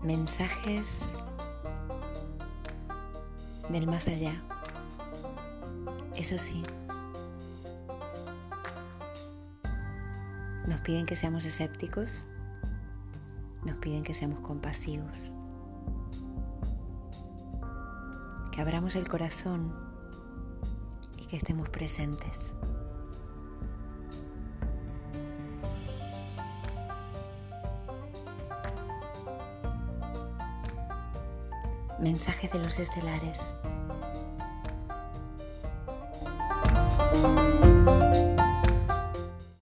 mensajes del más allá. Eso sí, nos piden que seamos escépticos, nos piden que seamos compasivos, que abramos el corazón y que estemos presentes. Mensajes de los estelares.